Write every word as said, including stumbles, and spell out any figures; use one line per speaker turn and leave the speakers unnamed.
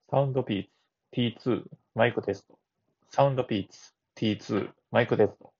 サウンドピーツ ティーツー マイクテスト。サウンドピーツ ティーツー マイクテスト。